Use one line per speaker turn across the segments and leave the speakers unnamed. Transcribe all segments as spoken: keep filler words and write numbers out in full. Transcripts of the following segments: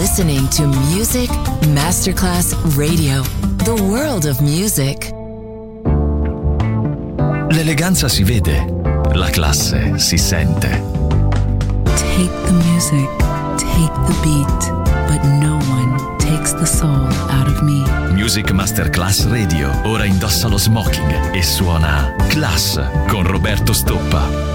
listening to Music Masterclass Radio, the world of music.
L'eleganza si vede, la classe si sente.
Take the music, take the beat, but no one takes the soul out of me.
Music Masterclass Radio ora indossa lo smoking e suona Class con Roberto Stoppa.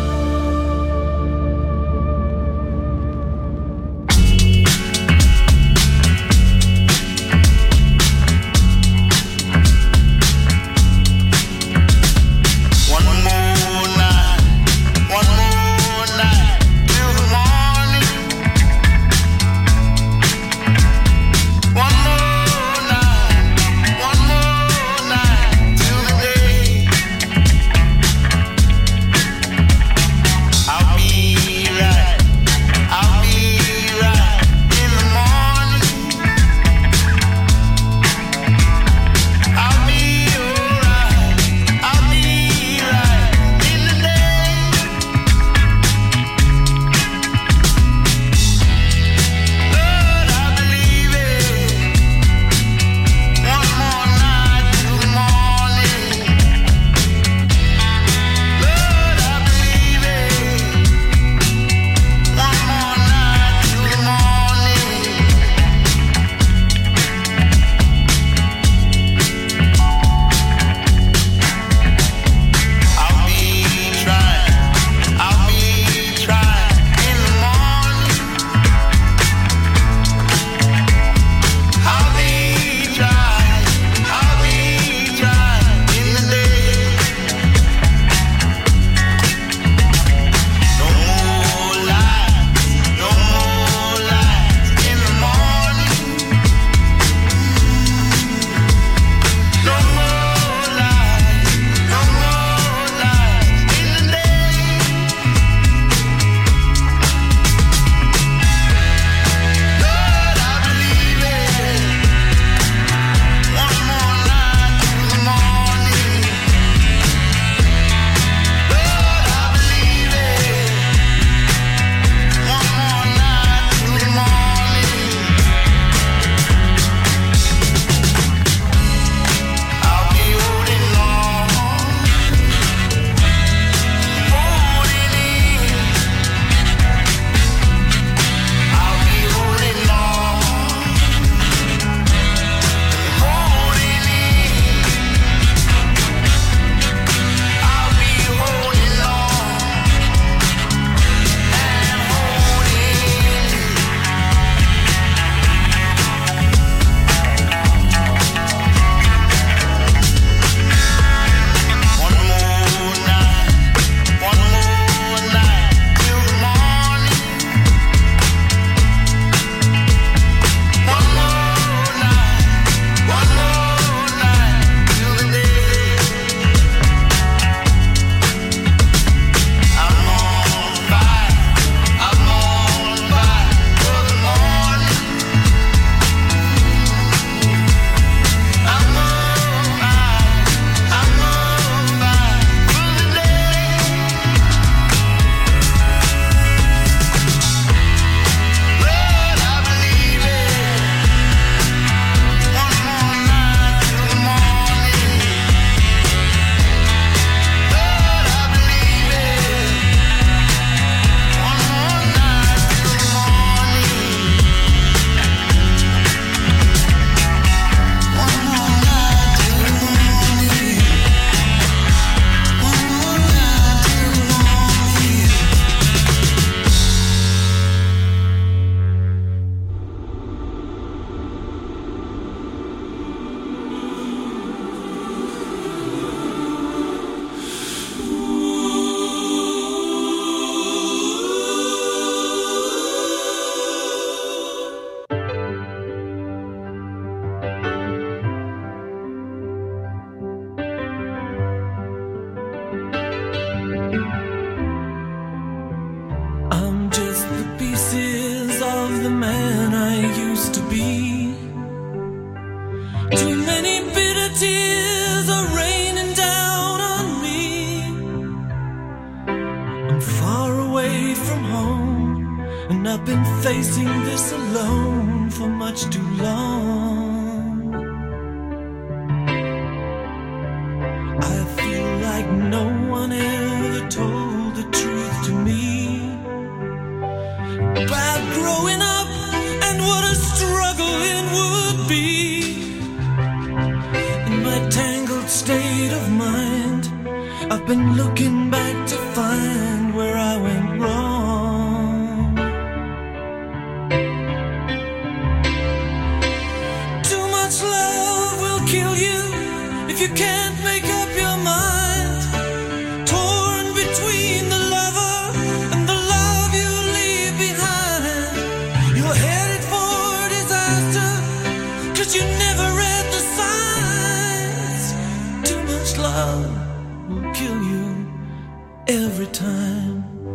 I've been facing this alone for much too long. I feel like no one ever told the truth to me about growing up and what a struggle it would be. In my tangled state of mind, I've been looking back to find where I went wrong. Too much love will kill you if you can't make up your mind. Torn between the lover and the love you leave behind. You're headed for disaster, 'cause you never read the signs. Too much love will kill you every time.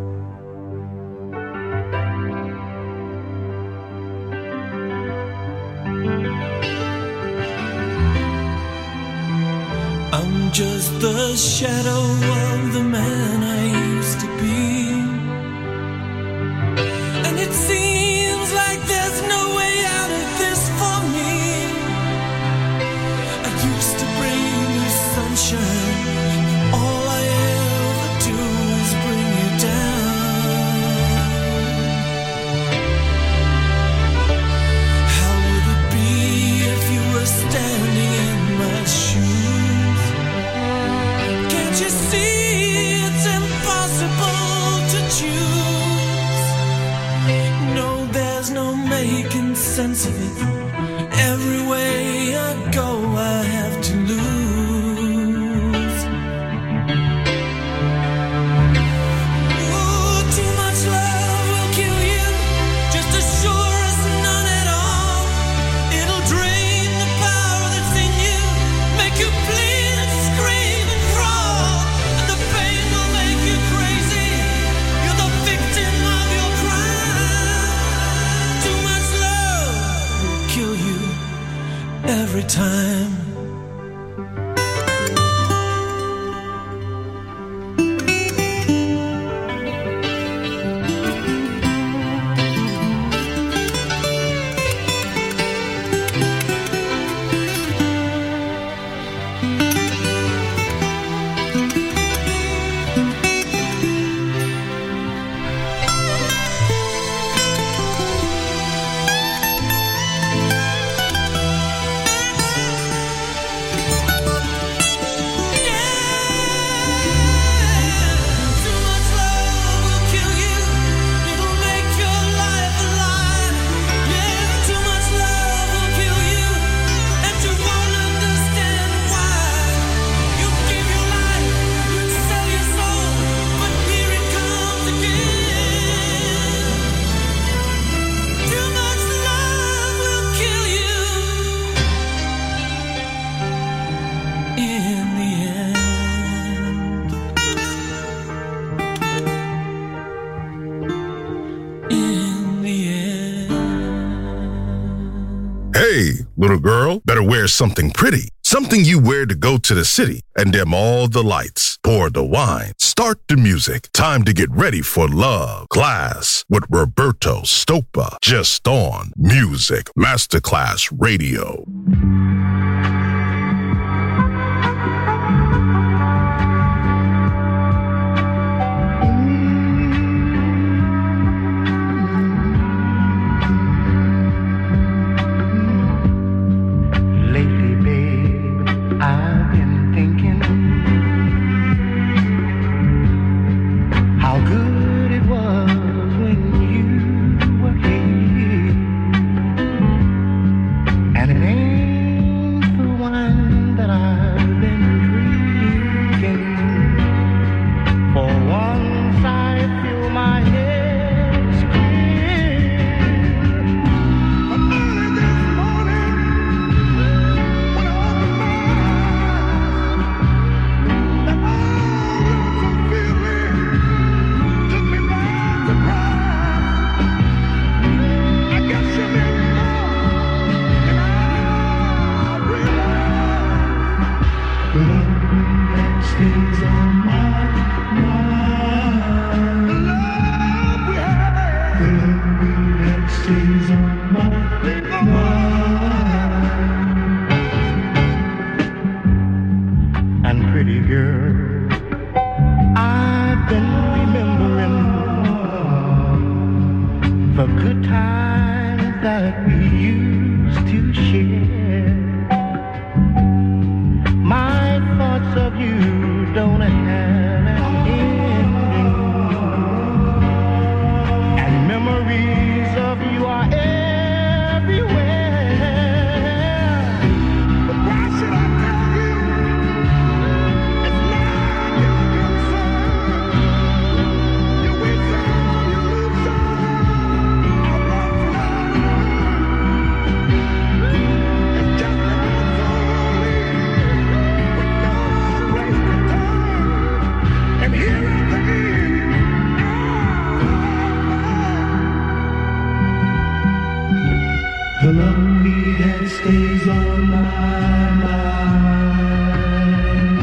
I'm just the shadow of the man I used to be, and it seems like there's no way out of this for me. I used to bring you sunshine, all I ever do is bring you down. How would it be if you were standing in my shoes? Can't you see it's impossible to choose? No, there's no making sense of it. Every way I go, I have to lose. Ooh, too much love will kill you, just as sure as none at all. It'll drain the power that's in you, make you bleed and scream and crawl, and the pain will make you crazy. You're the victim of your crime. Too much love will kill you every time.
Little girl, better wear something pretty. Something you wear to go to the city and dim all the lights. Pour the wine. Start the music. Time to get ready for love. Class with Roberto Stoppa. Just on Music Masterclass Radio.
And it ain't good times that we used to share. My thoughts of you don't have an ending, and memories of you are everywhere. But why should I tell you? It's not your concern. You win some, you lose some. I love it's just that I'm so lonely, with no place to turn. And here at the end, the lonely that stays on my mind.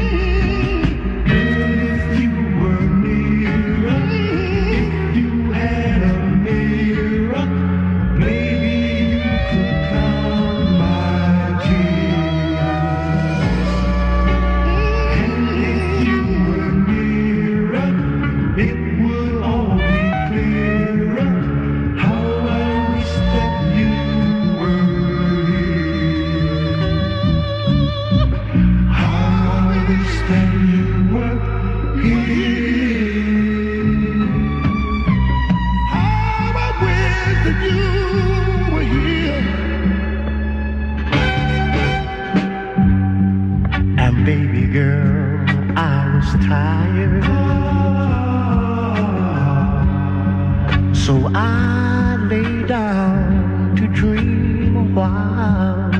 If you were nearer, if you had a mirror, maybe you could calm my tears. And if you were nearer, it would all be clearer. How I wish that you were here. How I wish that you were here. How I wish that you were here. And baby girl, I was tired, so I lay down to dream a while.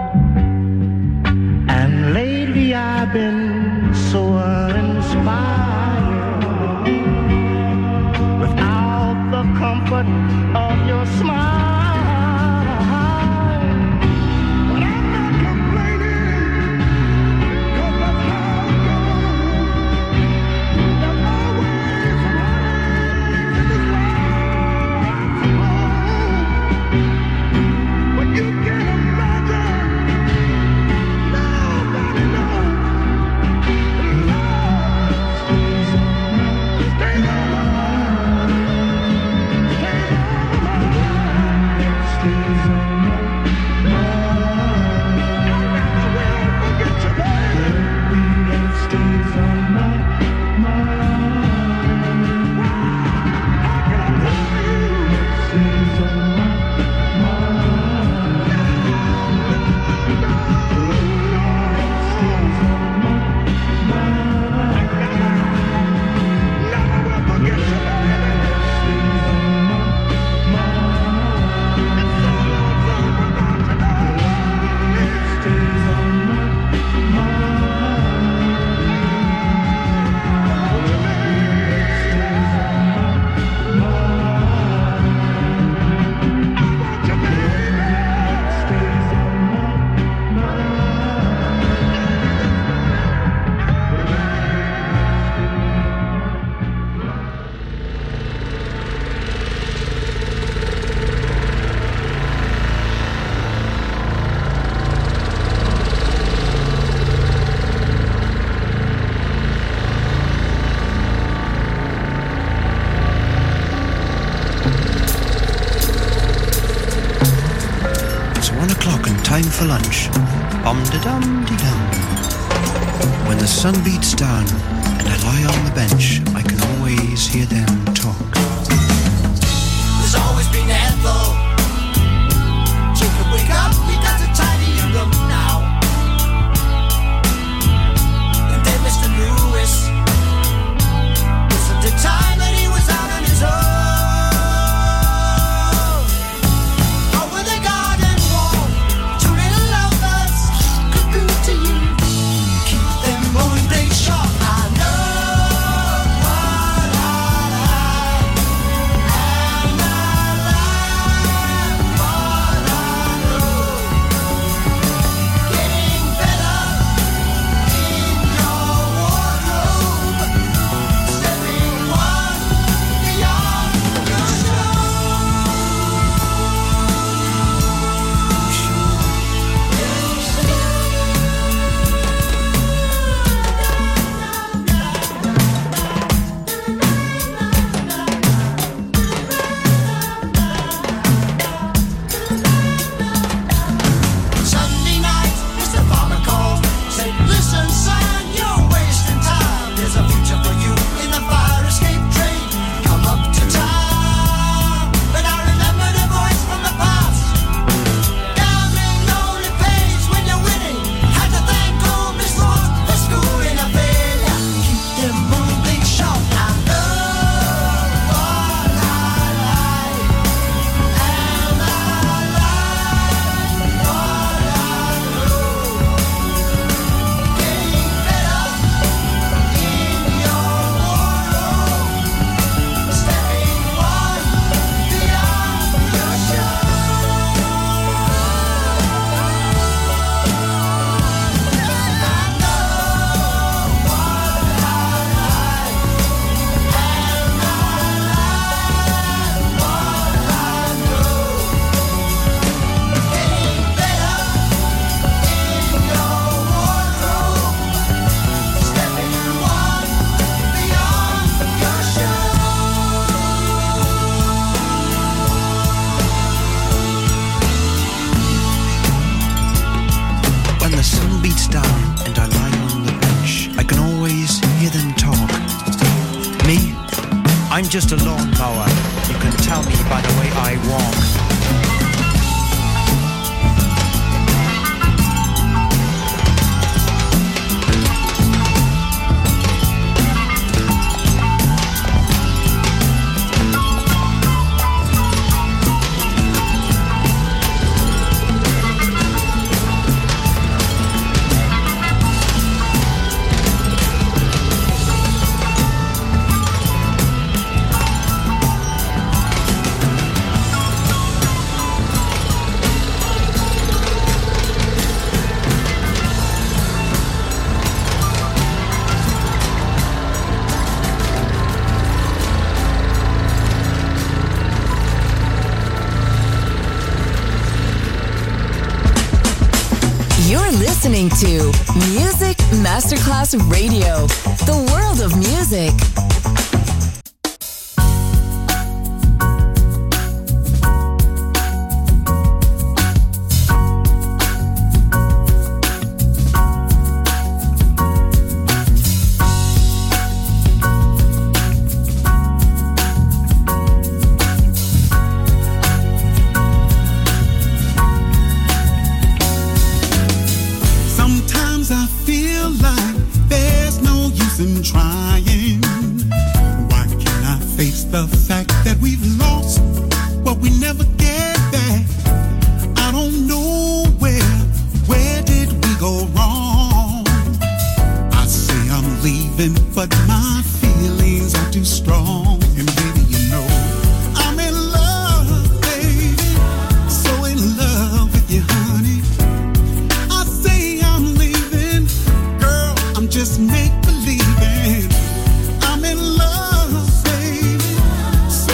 And lately I've been so uninspired, without the comfort of your smile. But I'm not complaining, 'cause that's how it goes. There's always some heartaches in this life, I suppose. But you can't imagine, nobody knows. Love stays on my mind, stays on my mind, stays on my mind, stays on my mind. I never will forget you, baby. That stays on my mind. How can I tell you? That stays on my mind. No, no, no, that stays on my mind. Never will forget you, baby. That stays on my mind. It's so lonesome without you, darling. It stays on my mind. Won't you, baby? It stays on my mind. I want you, baby. It stays on my
It's one o'clock and time for lunch. Bum-de-dum-de-dum. When the sun beats down and I lie on the bench, I can always hear them talk.
There's always been Ethel. Children, wake up, we got to tidy your room now. And then Mister Lewis, wasn't the time that he was out on his own. Over the garden wall, two little lovers could go to you. Keep them going, they sharp. I know what I like.
I'm just a lawnmower. You can tell me by the way I walk.
Listening to Music Masterclass Radio, the world of music.
Just make believing I'm in love, baby.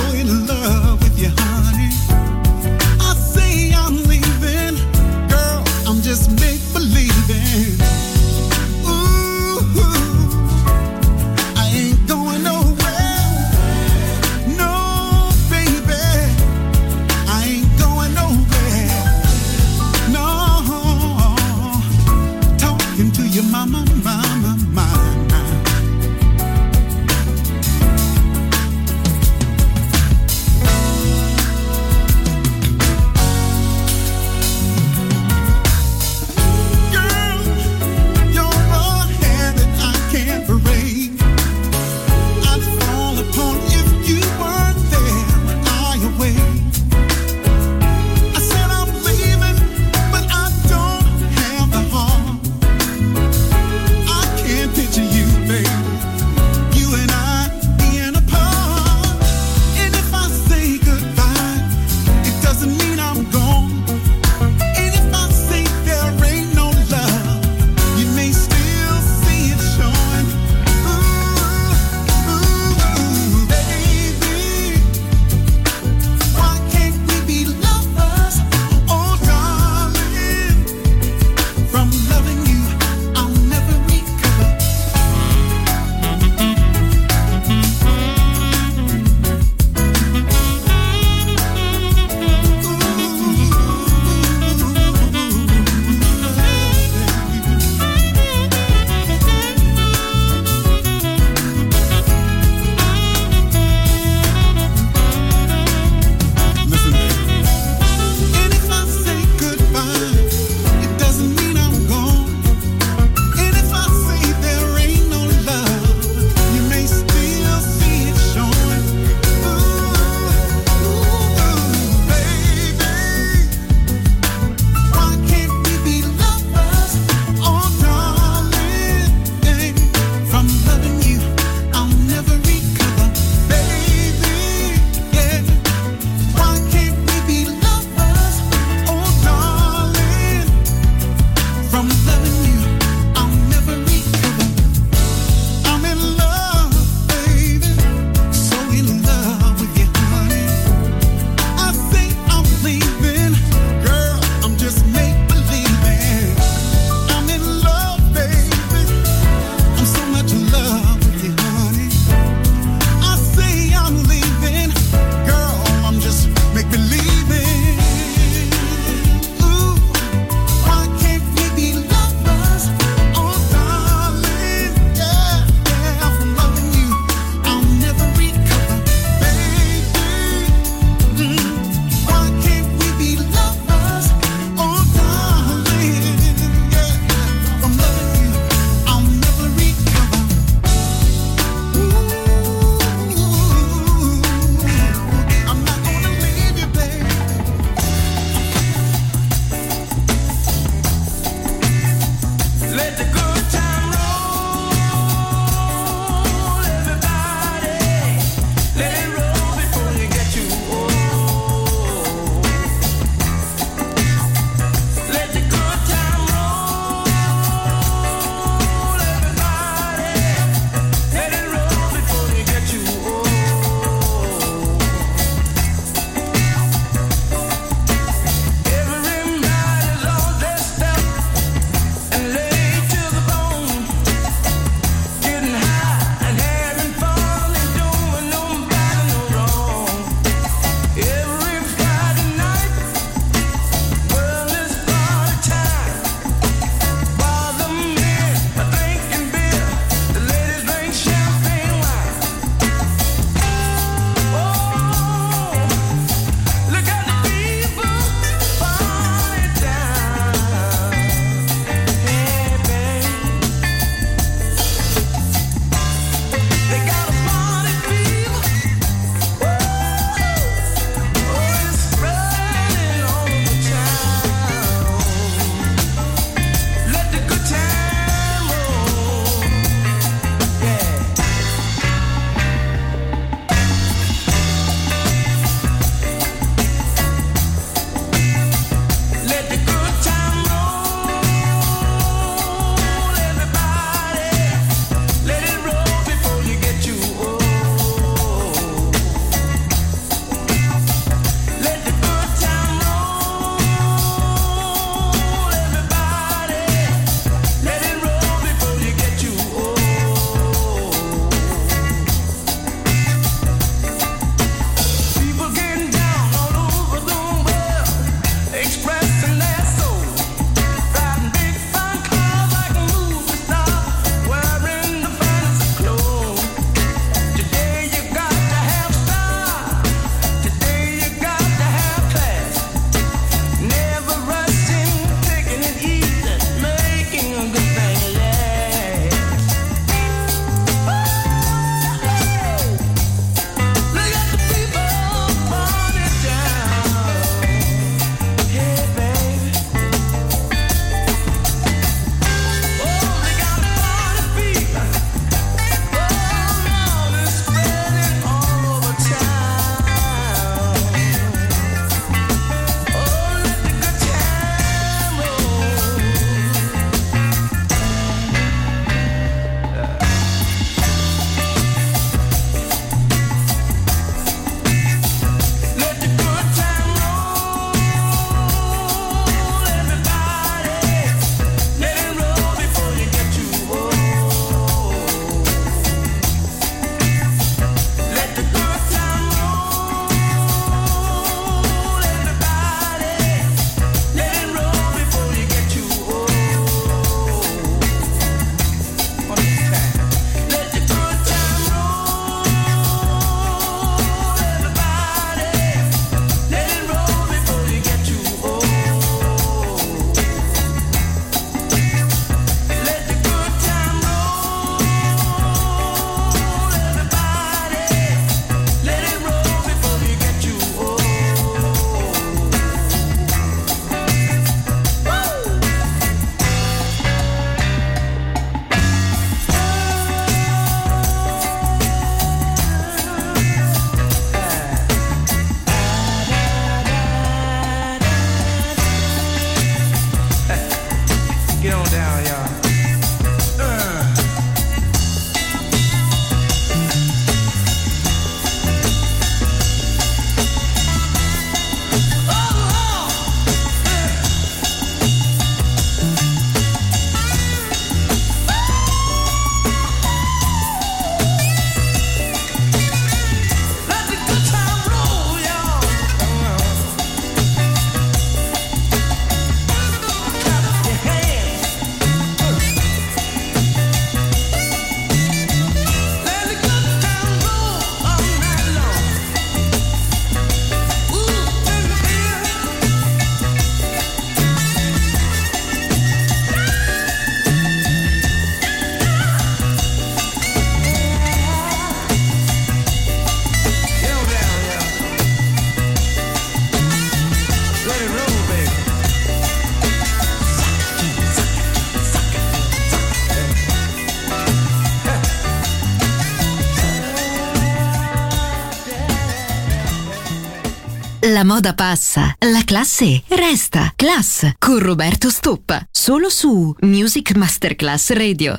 La moda passa, la classe resta. Class con Roberto Stoppa, solo su Music Masterclass Radio.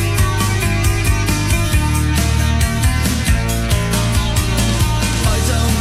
I don't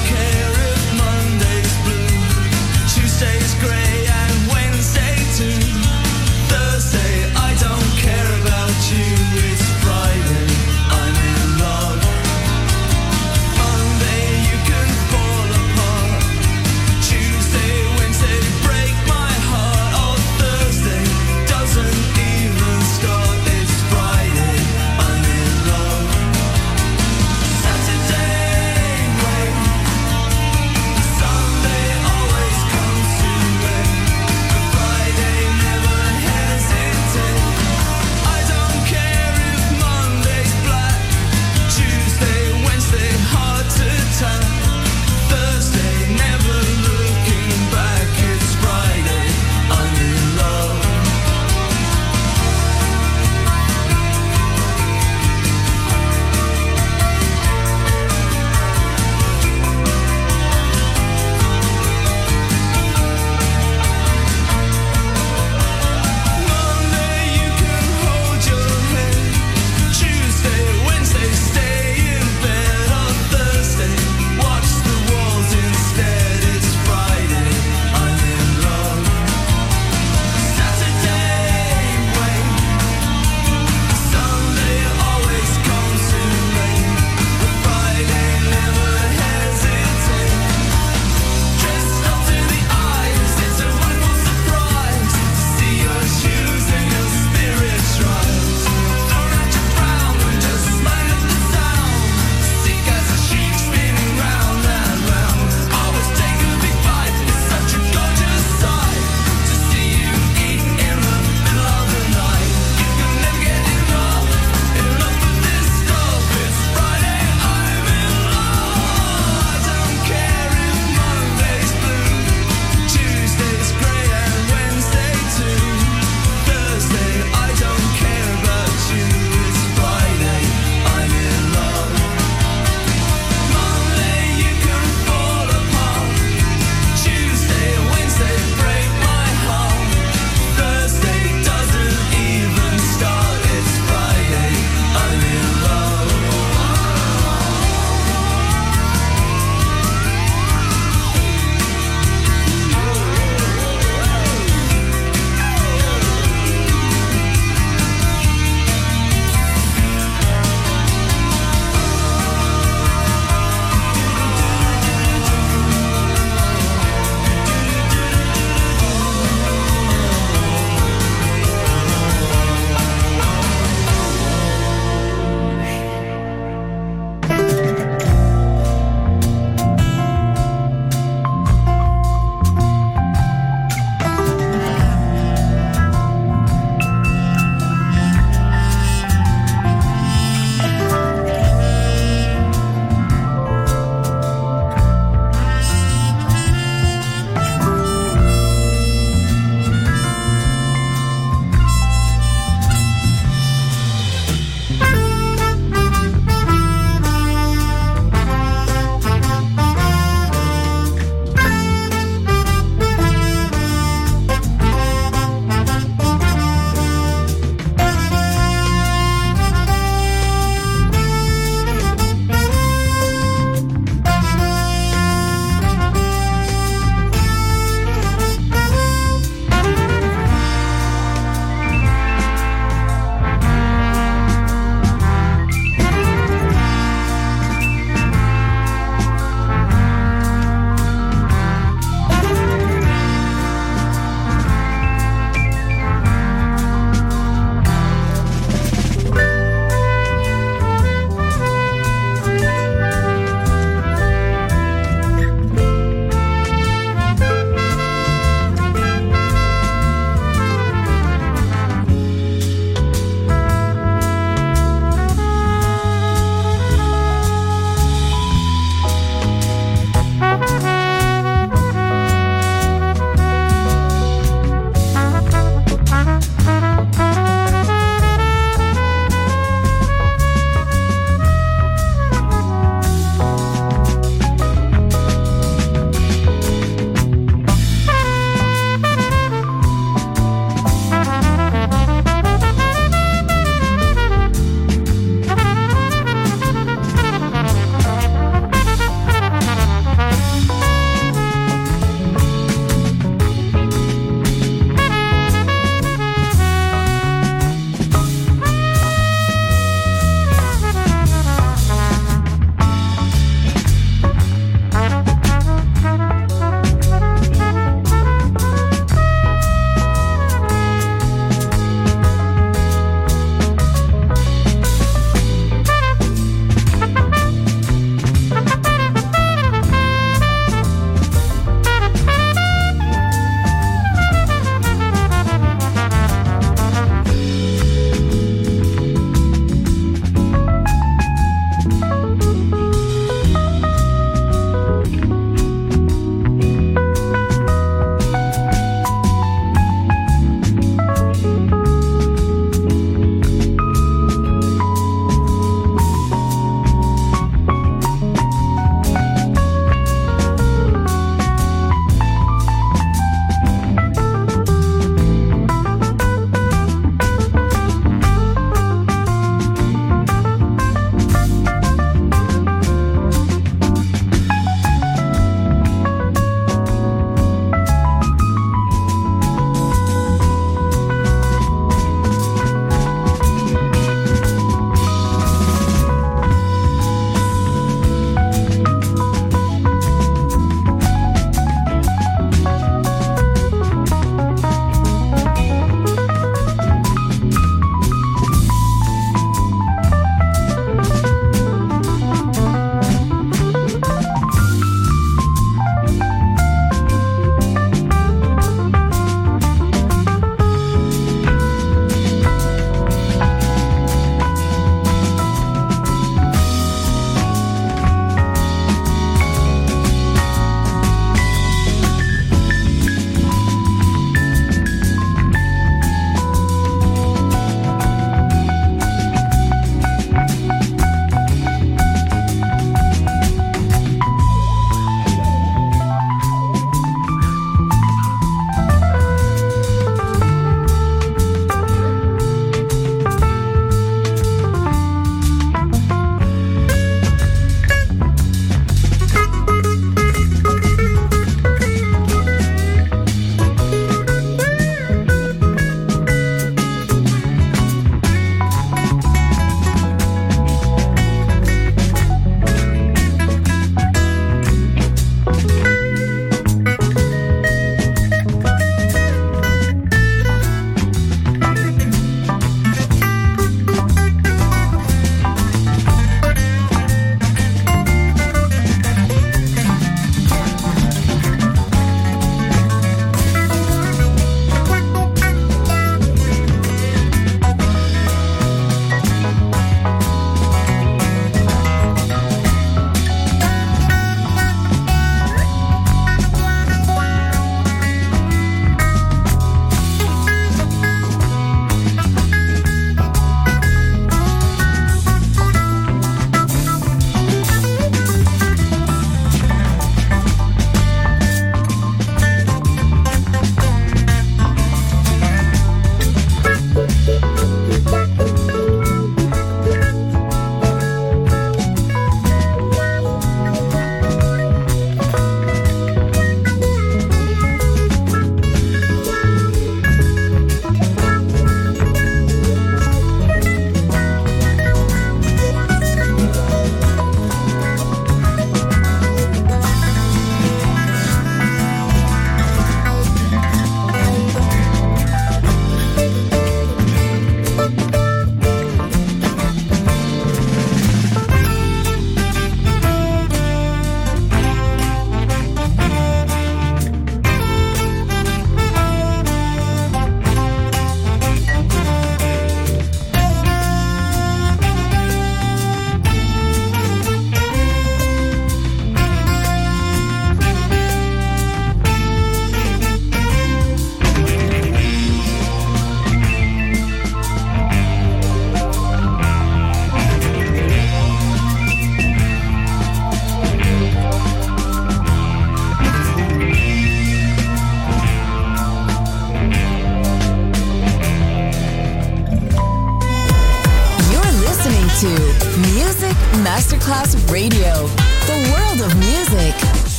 to Music Masterclass Radio, the world of music.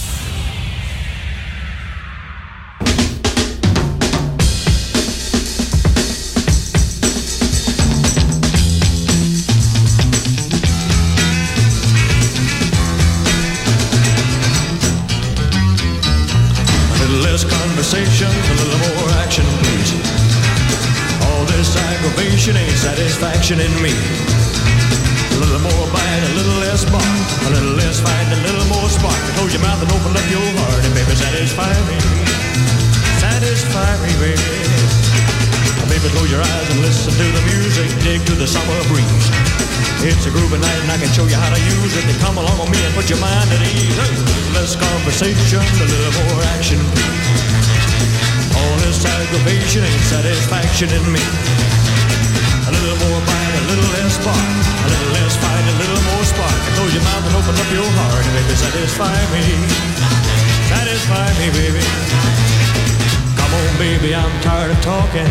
Conversation, a little more action, please. All this aggravation ain't satisfaction in me. A little more bite, a little less bark, a little less fight, a little more spark. Close your mouth and open up your heart, and baby, satisfy me. Satisfy me, baby. Baby, close your eyes and listen to the music, dig to the summer breeze. It's a groovy night and I can show you how to use it. Then come along with me and put your mind at ease. Hey, less conversation, a little more action, please. All this aggravation ain't satisfaction in me. A little more bite, a little less spark, a little less fight, a little more spark. Close your mouth and open up your heart, and baby, satisfy me. Satisfy me, baby. Come on, baby, I'm tired of talking.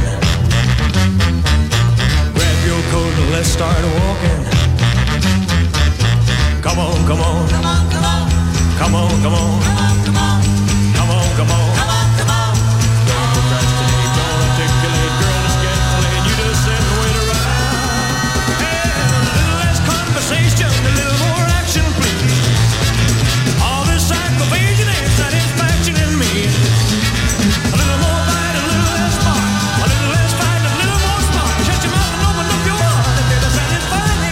Grab your coat and let's start walking. Come on, come on. Come on, come on. Come on, come on. Come on, come on. Come on, come on. Come on, come on. Don't procrastinate, don't articulate, girl, it's getting late. You just sit and wait around. Hey, a little less conversation, a little more action, please. All this aggravation ain't satisfaction in me. A little more bite, a little less spark, a little less fight, a little more spark. Shut your mouth and open up your heart, and baby, satisfy me.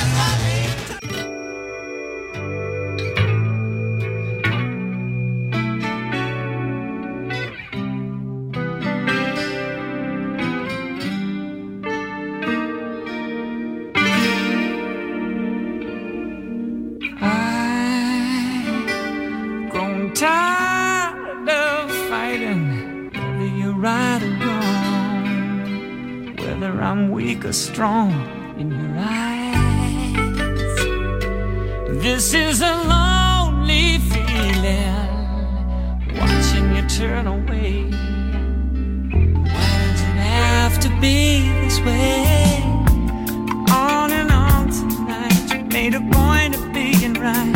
Tired of fighting, whether you're right or wrong, whether I'm weak or strong in your eyes. This is a lonely feeling, watching you turn away. Why does it have to be this way? On and on tonight, you made a point of being right,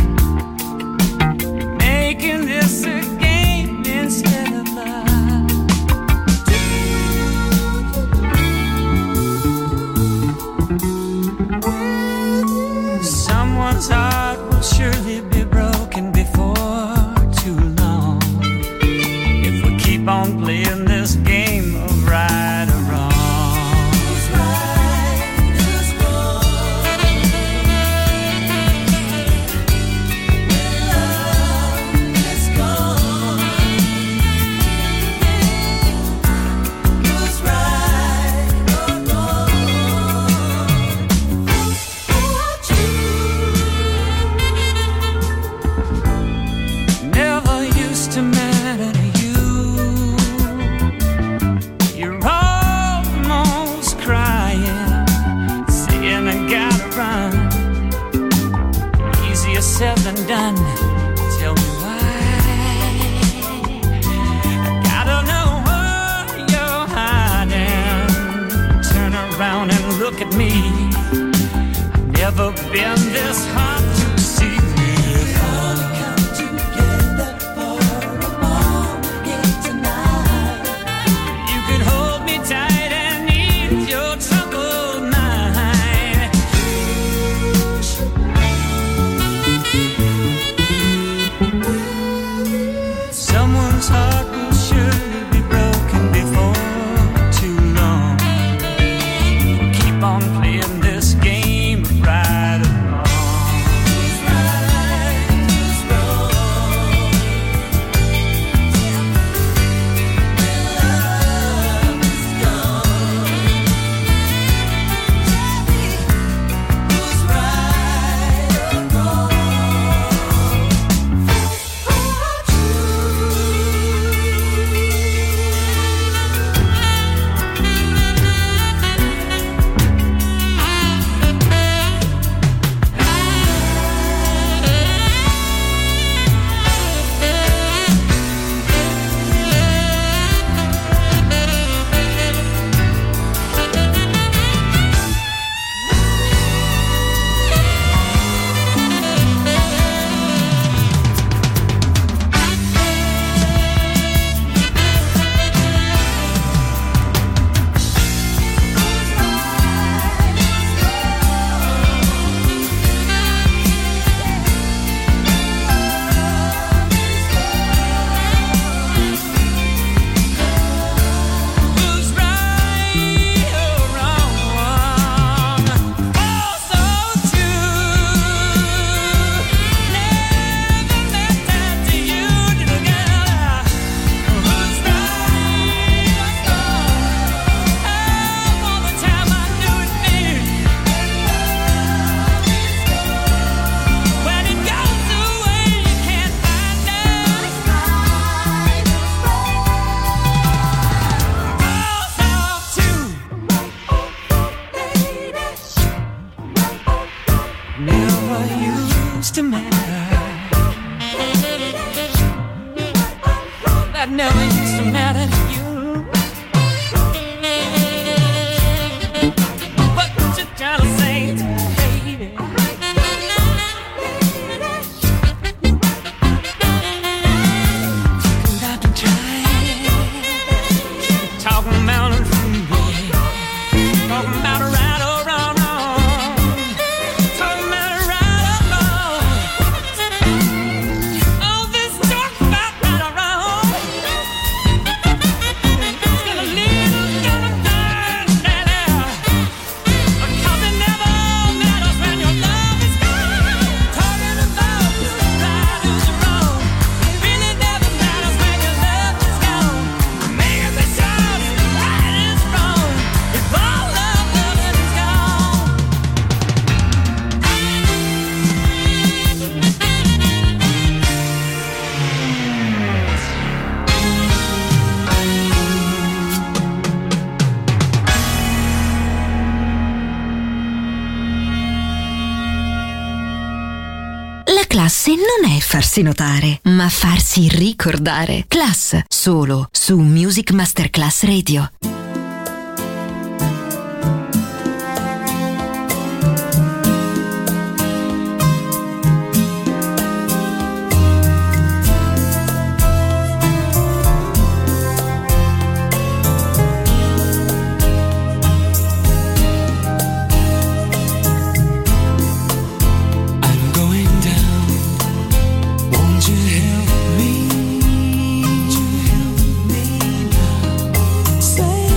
making this a game instead of love. Someone's heart will surely be broken before too long if we keep on playing this game of right or wrong. Who's right, who's wrong? Said and done. Tell me why. I gotta know where you're hiding. Turn around and look at me. I've never been this hot to see me. Finally come together for a moment tonight. You could hold me tight and ease your troubled mind. Someone's heart will surely be broken before too long. Keep on playing this game of right or wrong. to matter. That never used to matter to you. What you trying to say to me, baby? Cause I've been trying, talking about it for me, talking about it right or wrong, talking about it right or wrong. All this talk about right or wrong.
Classe non è farsi notare, ma farsi ricordare. Class, solo su Music Masterclass Radio.
Say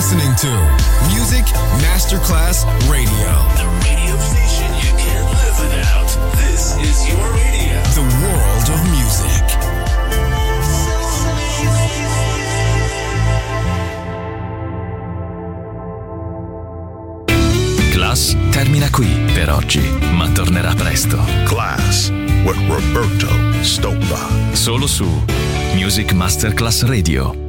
listening to Music Masterclass Radio.
The radio station you can't live without. This is your radio.
The world of music.
Class termina qui per oggi, ma tornerà presto.
Class with Roberto Stoppa.
Solo su Music Masterclass Radio.